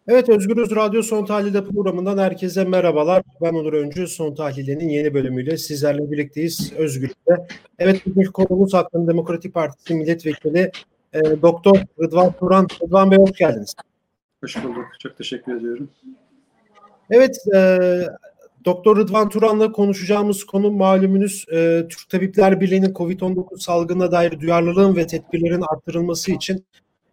Evet, Özgürüz Radyo Son Tahlil'de programından herkese merhabalar. Ben Onur Öncü. Son Tahlil'in yeni bölümüyle sizlerle birlikteyiz Özgürüz'de. Evet, bugünkü konumuz Halkların Demokratik Partisi Milletvekili Doktor Rıdvan Turan. Rıdvan Bey, hoş geldiniz. Hoş bulduk. Çok teşekkür ediyorum. Evet, Doktor Rıdvan Turan'la konuşacağımız konu malumunuz Türk Tabipler Birliği'nin COVID-19 salgınına dair duyarlılığın ve tedbirlerin arttırılması için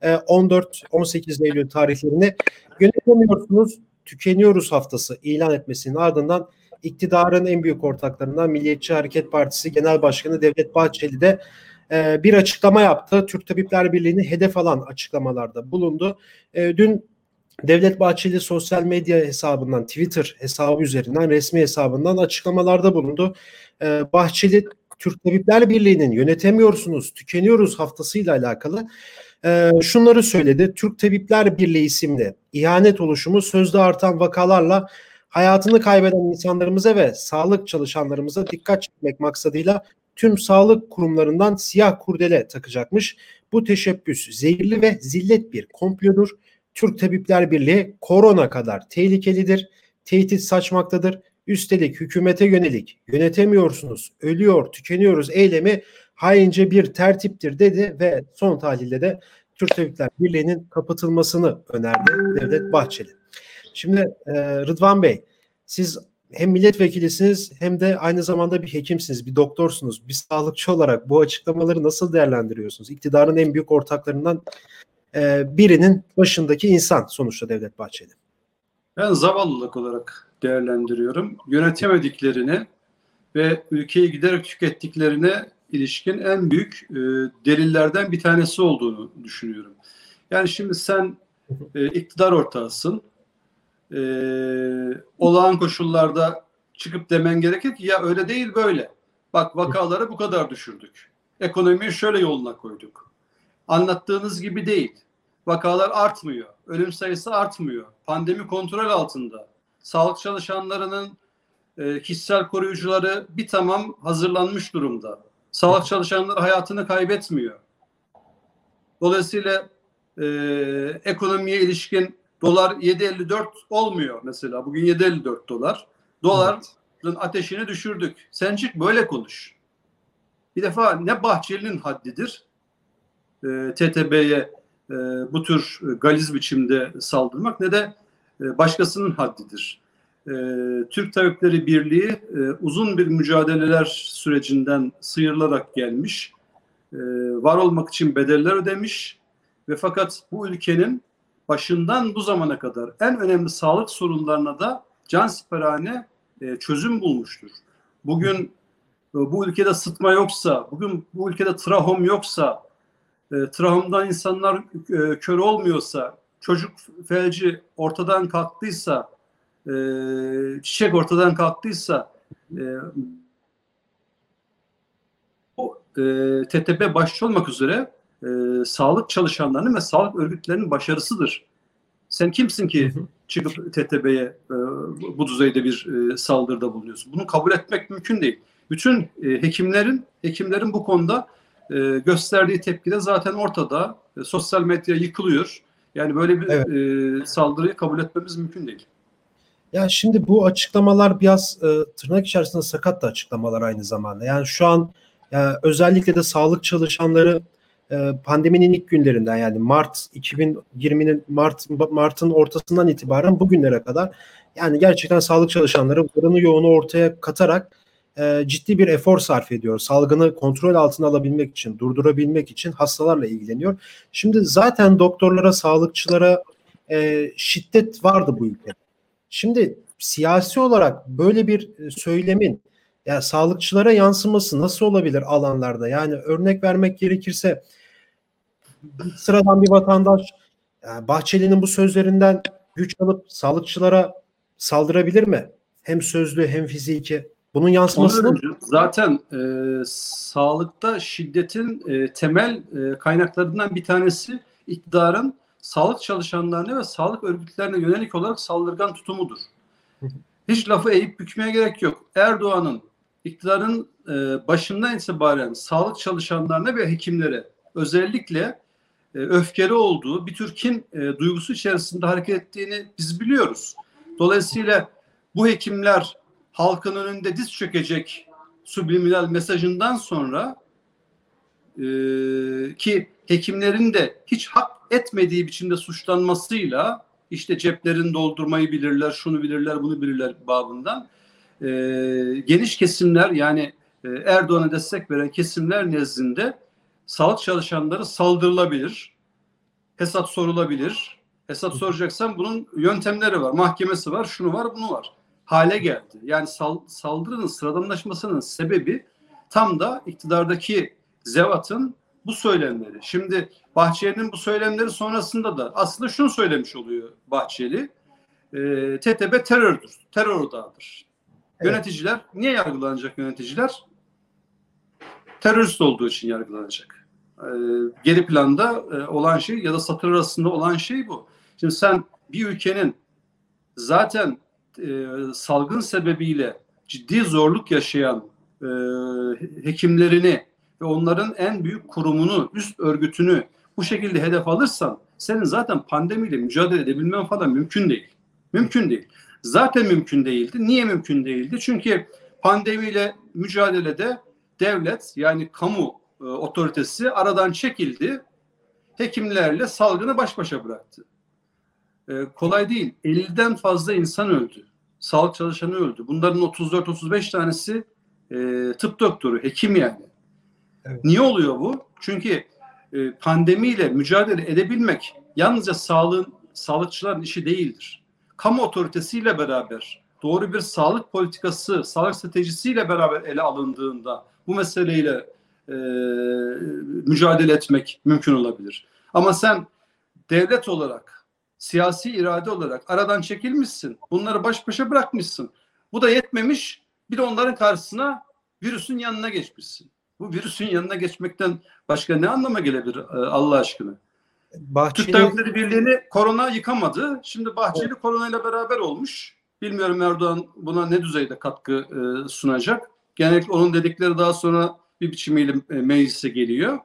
14-18 Eylül tarihlerini yönetemiyorsunuz, tükeniyoruz haftası ilan etmesinin ardından iktidarın en büyük ortaklarından Milliyetçi Hareket Partisi Genel Başkanı Devlet Bahçeli de bir açıklama yaptı. Türk Tabipler Birliği'ni hedef alan açıklamalarda bulundu. Dün Devlet Bahçeli sosyal medya hesabından, Twitter hesabı üzerinden, resmi hesabından açıklamalarda bulundu. Bahçeli, Türk Tabipler Birliği'nin yönetemiyorsunuz, tükeniyoruz haftasıyla alakalı şunları söyledi. Türk Tabipler Birliği isimli ihanet oluşumu sözde artan vakalarla hayatını kaybeden insanlarımıza ve sağlık çalışanlarımıza dikkat çekmek maksadıyla tüm sağlık kurumlarından siyah kurdele takacakmış. Bu teşebbüs zehirli ve zillet bir komplodur. Türk Tabipler Birliği korona kadar tehlikelidir, tehdit saçmaktadır. Üstelik hükümete yönelik yönetemiyorsunuz, ölüyor, tükeniyoruz eylemi haince bir tertiptir dedi ve son tahlilde de Türk Tabipler Birliği'nin kapatılmasını önerdi Devlet Bahçeli. Şimdi Rıdvan Bey, siz hem milletvekilisiniz hem de aynı zamanda bir hekimsiniz, bir doktorsunuz. Bir sağlıkçı olarak bu açıklamaları nasıl değerlendiriyorsunuz? İktidarın en büyük ortaklarından birinin başındaki insan sonuçta Devlet Bahçeli. Ben zavallılık olarak değerlendiriyorum. Yönetemediklerini ve ülkeyi giderek tükettiklerine ilişkin en büyük delillerden bir tanesi olduğunu düşünüyorum. Yani şimdi sen iktidar ortağısın. Olağan koşullarda çıkıp demen gerekir ki ya öyle değil böyle. Bak vakaları bu kadar düşürdük. Ekonomiyi şöyle yoluna koyduk. Anlattığınız gibi değil. Vakalar artmıyor. Ölüm sayısı artmıyor. Pandemi kontrol altında. Sağlık çalışanlarının kişisel koruyucuları bir tamam hazırlanmış durumda. Sağlık çalışanları hayatını kaybetmiyor. Dolayısıyla ekonomiye ilişkin dolar 7.54 olmuyor mesela. Bugün 7.54 dolar. Doların ateşini düşürdük. Sen çık böyle konuş. Bir defa ne Bahçeli'nin haddidir TTB'ye bu tür galiz biçimde saldırmak ne de başkasının haddidir. Türk Tabipleri Birliği uzun bir mücadeleler sürecinden sıyrılarak gelmiş, var olmak için bedeller ödemiş ve fakat bu ülkenin başından bu zamana kadar en önemli sağlık sorunlarına da cansiperane çözüm bulmuştur. Bugün bu ülkede sıtma yoksa, bugün bu ülkede trahom yoksa, trahomdan insanlar kör olmuyorsa, çocuk felci ortadan kalktıysa, çiçek ortadan kalktıysa bu TTB başta olmak üzere sağlık çalışanlarının ve sağlık örgütlerinin başarısıdır. Sen kimsin ki çıkıp TTB'ye bu düzeyde bir saldırıda bulunuyorsun? Bunu kabul etmek mümkün değil. Bütün hekimlerin bu konuda gösterdiği tepki de zaten ortada. Sosyal medya yıkılıyor. Yani böyle bir saldırıyı kabul etmemiz mümkün değil. Ya şimdi bu açıklamalar biraz tırnak içerisinde sakat da açıklamalar aynı zamanda. Yani şu an özellikle de sağlık çalışanları pandeminin ilk günlerinden, yani Mart 2020'nin Mart'ın ortasından itibaren bugünlere kadar yani gerçekten sağlık çalışanları varını yoğunu ortaya katarak ciddi bir efor sarf ediyor. Salgını kontrol altına alabilmek için, durdurabilmek için hastalarla ilgileniyor. Şimdi zaten doktorlara, sağlıkçılara şiddet vardı bu ülkede. Şimdi siyasi olarak böyle bir söylemin ya sağlıkçılara yansıması nasıl olabilir alanlarda? Yani örnek vermek gerekirse sıradan bir vatandaş yani Bahçeli'nin bu sözlerinden güç alıp sağlıkçılara saldırabilir mi? Hem sözlü hem fiziki. Bunun yansımasını zaten sağlıkta şiddetin temel kaynaklarından bir tanesi iktidarın sağlık çalışanlarına ve sağlık örgütlerine yönelik olarak saldırgan tutumudur. Hiç lafı eğip bükmeye gerek yok. Erdoğan'ın iktidarın başından itibaren sağlık çalışanlarına ve hekimlere özellikle öfkeli olduğu, bir tür kin duygusu içerisinde hareket ettiğini biz biliyoruz. Dolayısıyla bu hekimler halkın önünde diz çökecek subliminal mesajından sonra ki hekimlerin de hiç hak etmediği biçimde suçlanmasıyla işte ceplerini doldurmayı bilirler, şunu bilirler, bunu bilirler babından geniş kesimler yani Erdoğan'a destek veren kesimler nezdinde sağlık çalışanları saldırılabilir, hesap sorulabilir. Hesap soracaksan bunun yöntemleri var, mahkemesi var, şunu var, bunu var. Hale geldi. Yani saldırının sıradanlaşmasının sebebi tam da iktidardaki zevatın bu söylemleri. Şimdi Bahçeli'nin bu söylemleri sonrasında da aslında şunu söylemiş oluyor Bahçeli. TTB terördür, terör odağıdır. Evet. Yöneticiler, niye yargılanacak yöneticiler? Terörist olduğu için yargılanacak. Geri planda olan şey ya da satır arasında olan şey bu. Şimdi sen bir ülkenin zaten salgın sebebiyle ciddi zorluk yaşayan hekimlerini ve onların en büyük kurumunu, üst örgütünü bu şekilde hedef alırsan senin zaten pandemiyle mücadele edebilmen falan mümkün değil. Mümkün değil. Zaten mümkün değildi. Niye mümkün değildi? Çünkü pandemiyle mücadelede devlet yani kamu otoritesi aradan çekildi. Hekimlerle salgını baş başa bıraktı. Kolay değil. 50'den fazla insan öldü. Sağlık çalışanı öldü. Bunların 34-35 tanesi tıp doktoru, hekim yani. Evet. Niye oluyor bu? Çünkü pandemiyle mücadele edebilmek yalnızca sağlıkçıların işi değildir. Kamu otoritesiyle beraber doğru bir sağlık politikası, sağlık stratejisiyle beraber ele alındığında bu meseleyle mücadele etmek mümkün olabilir. Ama sen devlet olarak, siyasi irade olarak aradan çekilmişsin. Bunları baş başa bırakmışsın. Bu da yetmemiş. Bir de onların karşısına virüsün yanına geçmişsin. Bu virüsün yanına geçmekten başka ne anlama gelebilir Allah aşkına? Türk Tabipleri Birliği'ni korona yıkamadı. Şimdi Bahçeli koronayla beraber olmuş. Bilmiyorum Erdoğan buna ne düzeyde katkı sunacak. Genellikle onun dedikleri daha sonra bir biçimiyle meclise geliyor.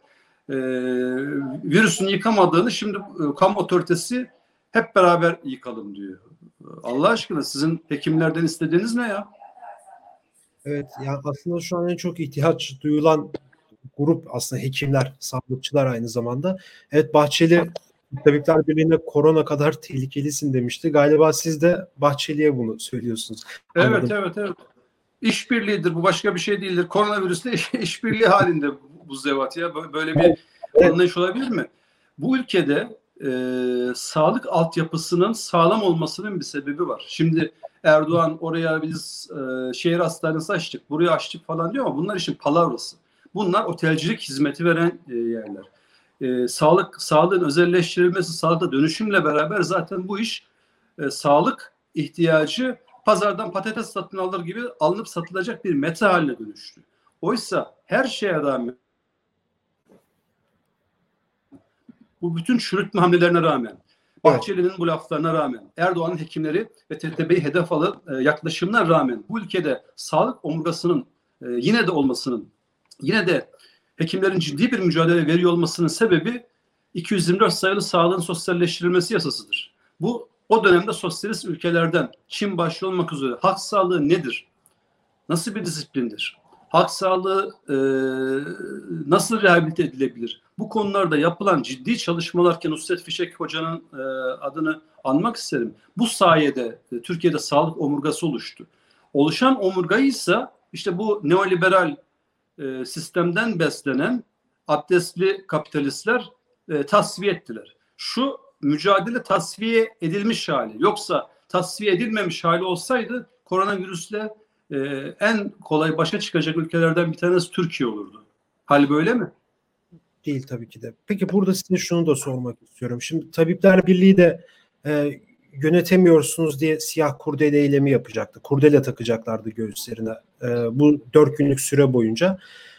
Virüsün yıkamadığını şimdi kamu otoritesi hep beraber yıkalım diyor. Allah aşkına sizin hekimlerden istediğiniz ne ya? Evet, yani aslında şu an en çok ihtiyaç duyulan grup aslında hekimler, sağlıkçılar aynı zamanda. Evet, Bahçeli Tabipler Birliği'ne korona kadar tehlikelisin demişti. Galiba siz de Bahçeli'ye bunu söylüyorsunuz. Evet, evet. İşbirliğidir, bu başka bir şey değildir. Koronavirüsle işbirliği halinde bu zevat ya. Böyle bir anlayış olabilir mi? Bu ülkede sağlık altyapısının sağlam olmasının bir sebebi var. Şimdi Erdoğan oraya biz şehir hastanesi açtık, buraya açtık falan diyor ama bunlar işin palavrası. Bunlar otelcilik hizmeti veren yerler. Sağlığın özelleştirilmesi, sağlıkta dönüşümle beraber zaten bu iş sağlık ihtiyacı pazardan patates satın alır gibi alınıp satılacak bir meta haline dönüştü. Oysa her şeye rağmen bu bütün çürütme hamlelerine rağmen, Bahçeli'nin bu laflarına rağmen, Erdoğan'ın hekimleri ve TTB'yi hedef alan yaklaşımına rağmen bu ülkede sağlık omurgasının yine de olmasının, yine de hekimlerin ciddi bir mücadele veriyor olmasının sebebi 224 sayılı sağlığın sosyalleştirilmesi yasasıdır. Bu o dönemde sosyalist ülkelerden Çin başta olmak üzere halk sağlığı nedir? Nasıl bir disiplindir? Halk sağlığı nasıl rehabilite edilebilir? Bu konularda yapılan ciddi çalışmalarken Nusret Fişek Hoca'nın adını anmak isterim. Bu sayede Türkiye'de sağlık omurgası oluştu. Oluşan omurgayı ise işte bu neoliberal sistemden beslenen abdestli kapitalistler tasfiye ettiler. Şu mücadele tasfiye edilmiş hali. Yoksa tasfiye edilmemiş hali olsaydı koronavirüsle en kolay başa çıkacak ülkelerden bir tanesi Türkiye olurdu. Hal böyle mi? Değil tabii ki de. Peki burada size şunu da sormak istiyorum. Şimdi Tabipler Birliği de yönetemiyorsunuz diye siyah kurdele eylemi yapacaktı. Kurdele takacaklardı göğüslerine bu 4 günlük süre boyunca.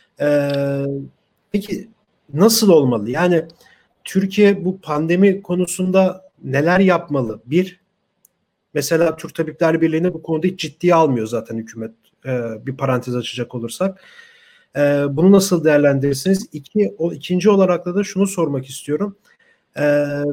Peki nasıl olmalı? Yani Türkiye bu pandemi konusunda neler yapmalı? Mesela Türk Tabipler Birliği'ne bu konuda hiç ciddiye almıyor zaten hükümet. Bir parantez açacak olursak. Bunu nasıl değerlendirirsiniz? İkinci olarak da şunu sormak istiyorum. Ee,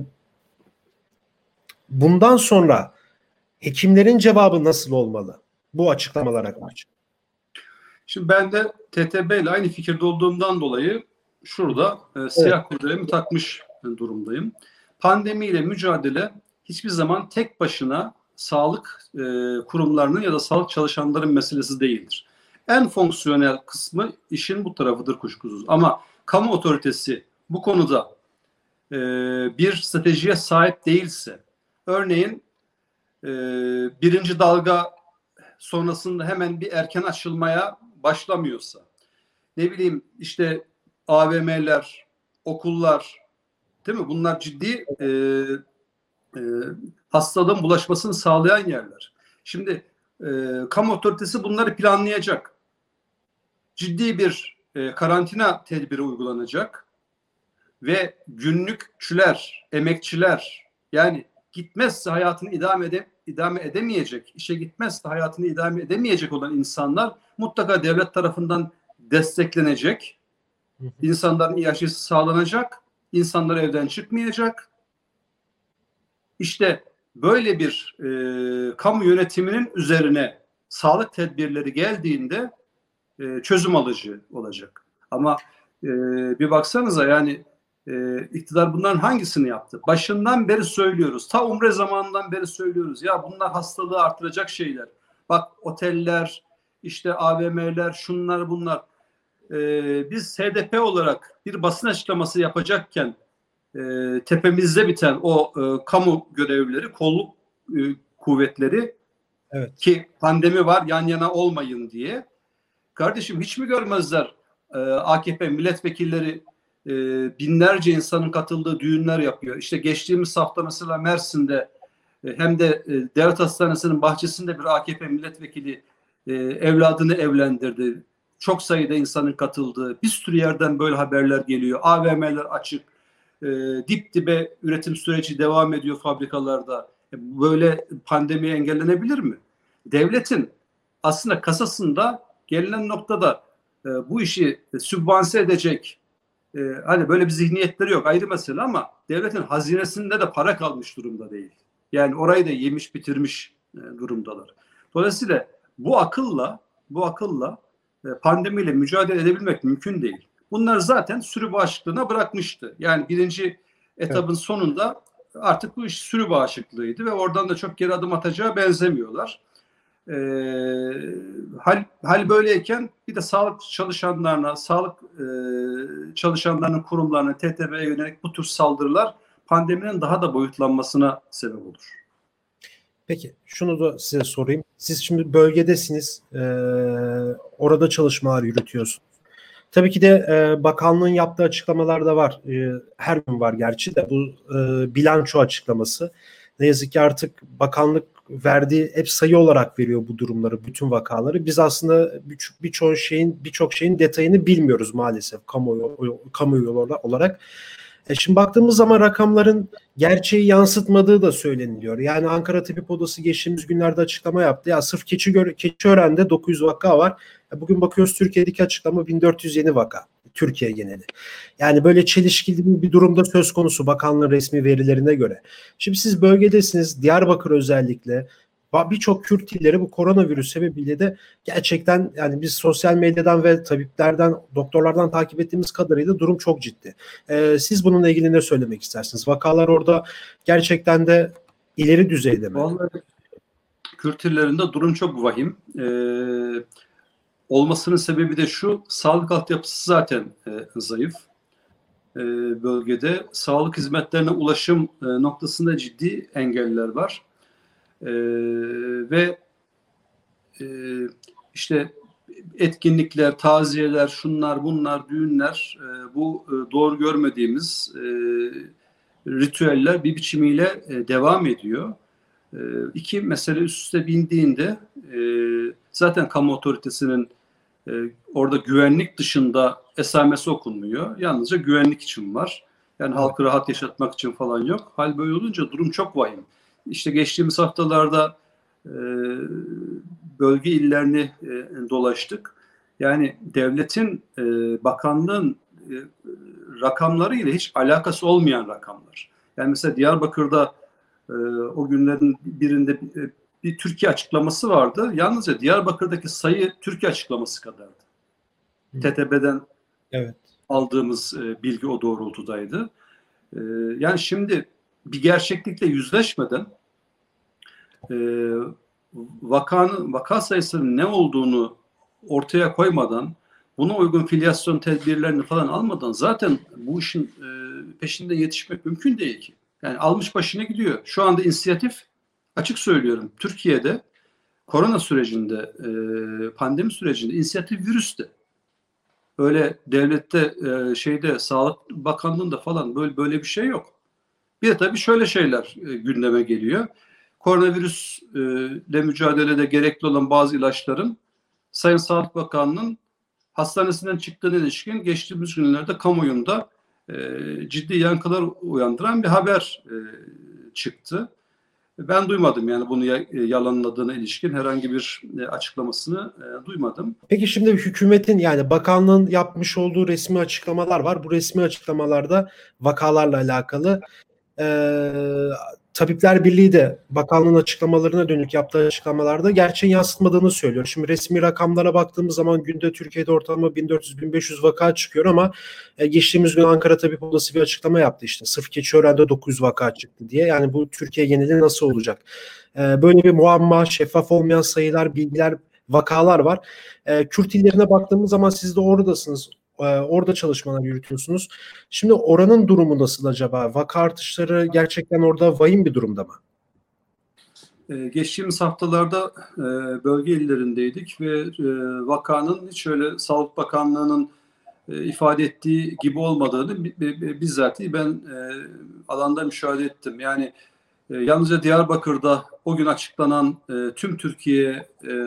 Bundan sonra hekimlerin cevabı nasıl olmalı bu açıklamalara karşı? Şimdi ben de TTB ile aynı fikirde olduğumdan dolayı şurada siyah kurdelemi takmış durumdayım. Pandemiyle mücadele hiçbir zaman tek başına sağlık kurumlarının ya da sağlık çalışanların meselesi değildir. En fonksiyonel kısmı işin bu tarafıdır kuşkusuz. Ama kamu otoritesi bu konuda bir stratejiye sahip değilse, örneğin birinci dalga sonrasında hemen bir erken açılmaya başlamıyorsa, ne bileyim işte AVM'ler, okullar, değil mi? Bunlar ciddi hastalığın bulaşmasını sağlayan yerler. Şimdi kamu otoritesi bunları planlayacak. Ciddi bir karantina tedbiri uygulanacak ve günlükçüler, emekçiler, yani gitmezse hayatını idame edemeyecek, işe gitmezse hayatını idame edemeyecek olan insanlar mutlaka devlet tarafından desteklenecek. İnsanların yaşası sağlanacak, insanlar evden çıkmayacak. İşte böyle bir kamu yönetiminin üzerine sağlık tedbirleri geldiğinde çözüm alıcı olacak. Ama bir baksanıza, yani iktidar bunların hangisini yaptı? Başından beri söylüyoruz. Ta Umre zamanından beri söylüyoruz. Ya bunlar hastalığı artıracak şeyler. Bak oteller, işte AVM'ler, şunlar bunlar. Biz HDP olarak bir basın açıklaması yapacakken tepemizde biten o kamu görevlileri, kolluk kuvvetleri, evet, ki pandemi var yan yana olmayın diye. Kardeşim hiç mi görmezler AKP milletvekilleri binlerce insanın katıldığı düğünler yapıyor. İşte geçtiğimiz hafta mesela Mersin'de hem de devlet hastanesinin bahçesinde bir AKP milletvekili evladını evlendirdi. Çok sayıda insanın katıldığı, bir sürü yerden böyle haberler geliyor. AVM'ler açık, dip dibe üretim süreci devam ediyor fabrikalarda. Böyle pandemi engellenebilir mi? Devletin aslında kasasında gelinen noktada bu işi sübvanse edecek hani böyle bir zihniyetleri yok, ayrı mesele, ama devletin hazinesinde de para kalmış durumda değil. Yani orayı da yemiş bitirmiş durumdalar. Dolayısıyla bu akılla pandemiyle mücadele edebilmek mümkün değil. Bunlar zaten sürü bağışıklığına bırakmıştı. Yani birinci etabın sonunda artık bu iş sürü bağışıklığıydı ve oradan da çok geri adım atacağı benzemiyorlar. Hal böyleyken bir de sağlık çalışanlarına, sağlık çalışanlarının kurumlarına, TTB'ye yönelik bu tür saldırılar pandeminin daha da boyutlanmasına sebep olur. Peki şunu da size sorayım. Siz şimdi bölgedesiniz, orada çalışmalar yürütüyorsunuz. Tabii ki de bakanlığın yaptığı açıklamalar da var. Her gün var gerçi de bu bilanço açıklaması. Ne yazık ki artık bakanlık verdiği hep sayı olarak veriyor bu durumları, bütün vakaları. Biz aslında birçok şeyin detayını bilmiyoruz maalesef kamuoyu olarak. Şimdi baktığımız zaman rakamların gerçeği yansıtmadığı da söyleniliyor. Yani Ankara Tabip Odası geçtiğimiz günlerde açıklama yaptı. Ya sırf Keçiören'de 900 vaka var. Bugün bakıyoruz Türkiye'deki açıklama 1400 yeni vaka. Türkiye geneli. Yani böyle çelişkili bir durumda söz konusu bakanlığın resmi verilerine göre. Şimdi siz bölgedesiniz, Diyarbakır özellikle. Birçok Kürt illeri bu koronavirüs sebebiyle de gerçekten, yani biz sosyal medyadan ve tabiplerden, doktorlardan takip ettiğimiz kadarıyla durum çok ciddi. Siz bununla ilgili ne söylemek istersiniz? Vakalar orada gerçekten de ileri düzeyde mi? Vallahi Kürt illerinde durum çok vahim. Olmasının sebebi de şu: sağlık altyapısı zaten zayıf. Bölgede sağlık hizmetlerine ulaşım noktasında ciddi engeller var. Ve işte etkinlikler, taziyeler, şunlar bunlar, düğünler, bu doğru görmediğimiz ritüeller bir biçimiyle devam ediyor. İki mesele üst üste bindiğinde zaten kamu otoritesinin orada güvenlik dışında esamesi okunmuyor. Yalnızca güvenlik için var. Yani halkı rahat yaşatmak için falan yok. Hal böyle olunca durum çok vahim. İşte geçtiğimiz haftalarda bölge illerini dolaştık. Yani devletin, bakanlığın rakamları ile hiç alakası olmayan rakamlar. Yani mesela Diyarbakır'da o günlerin birinde bir Türkiye açıklaması vardı. Yalnızca Diyarbakır'daki sayı Türkiye açıklaması kadardı. TTB'den evet. aldığımız bilgi o doğrultudaydı. Yani şimdi bir gerçeklikle yüzleşmeden vaka sayısının ne olduğunu ortaya koymadan, buna uygun filyasyon tedbirlerini falan almadan zaten bu işin peşinden yetişmek mümkün değil ki. Yani almış başına gidiyor. Şu anda inisiyatif, açık söylüyorum, Türkiye'de korona sürecinde, pandemi sürecinde inisiyatif virüste. Öyle devlette, Sağlık Bakanlığı'nda falan böyle bir şey yok. Bir de tabii şöyle şeyler gündeme geliyor. Koronavirüsle mücadelede gerekli olan bazı ilaçların Sayın Sağlık Bakanlığı'nın hastanesinden çıktığına ilişkin geçtiğimiz günlerde kamuoyunda ciddi yankılar uyandıran bir haber çıktı. Ben duymadım, yani bunu yalanladığına ilişkin herhangi bir açıklamasını duymadım. Peki şimdi hükümetin, yani bakanlığın yapmış olduğu resmi açıklamalar var. Bu resmi açıklamalarda vakalarla alakalı Tabipler Birliği de bakanlığın açıklamalarına dönük yaptığı açıklamalarda gerçeğin yansıtmadığını söylüyor. Şimdi resmi rakamlara baktığımız zaman günde Türkiye'de ortalama 1400-1500 vaka çıkıyor ama geçtiğimiz gün Ankara Tabip Odası bir açıklama yaptı işte. Sırf Keçiören'de 900 vaka çıktı diye. Yani bu Türkiye geneli nasıl olacak? Böyle bir muamma, şeffaf olmayan sayılar, bilgiler, vakalar var. Kürt illerine baktığımız zaman siz de oradasınız. Orada çalışmalar yürütüyorsunuz. Şimdi oranın durumu nasıl acaba? Vaka artışları gerçekten orada vahim bir durumda mı? Geçtiğimiz haftalarda bölge illerindeydik ve vakanın hiç öyle Sağlık Bakanlığı'nın ifade ettiği gibi olmadığını bizzatihi ben alanda müşahede ettim. Yani yalnızca Diyarbakır'da o gün açıklanan tüm Türkiye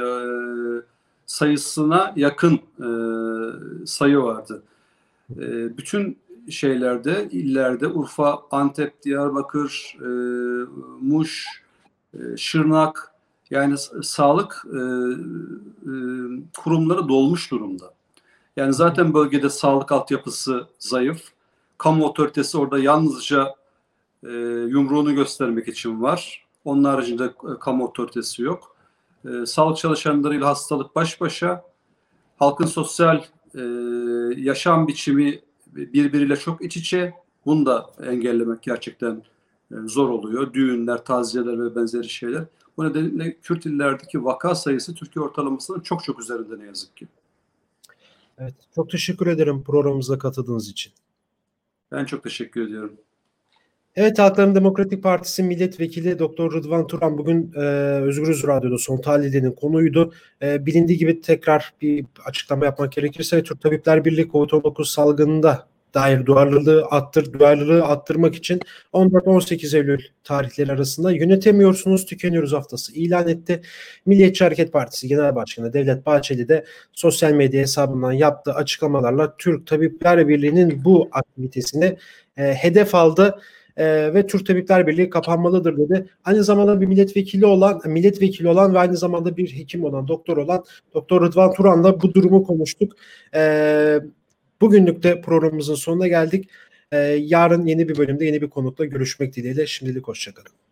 sayısına yakın sayı vardı. Bütün şeylerde, illerde, Urfa, Antep, Diyarbakır, Muş, Şırnak, yani sağlık kurumları dolmuş durumda. Yani zaten bölgede sağlık altyapısı zayıf. Kamu otoritesi orada yalnızca yumruğunu göstermek için var. Onun haricinde kamu otoritesi yok. Sağlık çalışanlarıyla hastalık baş başa. Halkın sosyal yaşam biçimi birbiriyle çok iç içe. Bunu da engellemek gerçekten zor oluyor. Düğünler, taziyeler ve benzeri şeyler. Bu nedenle Kürt illerdeki vaka sayısı Türkiye ortalamasının çok çok üzerinde ne yazık ki. Evet, çok teşekkür ederim programımıza katıldığınız için. Ben çok teşekkür ediyorum. Evet, Halkların Demokratik Partisi Milletvekili Doktor Rıdvan Turan bugün Özgürüz Radyo'da Son Tahlil'in konuydu. Bilindiği gibi tekrar bir açıklama yapmak gerekirse Türk Tabipler Birliği COVID-19 salgınında dair duyarlılığı arttırmak için 14-18 Eylül tarihleri arasında yönetemiyorsunuz, tükeniyoruz haftası ilan etti. Milliyetçi Hareket Partisi Genel Başkanı Devlet Bahçeli de sosyal medya hesabından yaptığı açıklamalarla Türk Tabipler Birliği'nin bu aktivitesini hedef aldı. Ve Türk Tabipler Birliği kapanmalıdır dedi. Aynı zamanda bir milletvekili olan ve aynı zamanda bir hekim olan, doktor olan Doktor Rıdvan Turan'la bu durumu konuştuk. Bugünlük de programımızın sonuna geldik. Yarın yeni bir bölümde yeni bir konukla görüşmek dileğiyle. Şimdilik hoşça kalın.